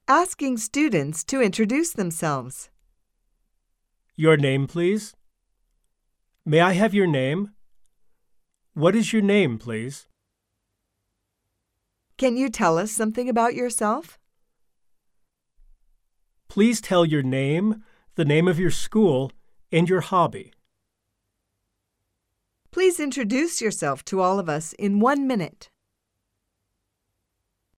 asking students to introduce themselves. Your name, please. May I have your name? What is your name, please? Can you tell us something about yourself? Please tell your name, the name of your school, and your hobby. Please introduce yourself to all of us in 1 minute.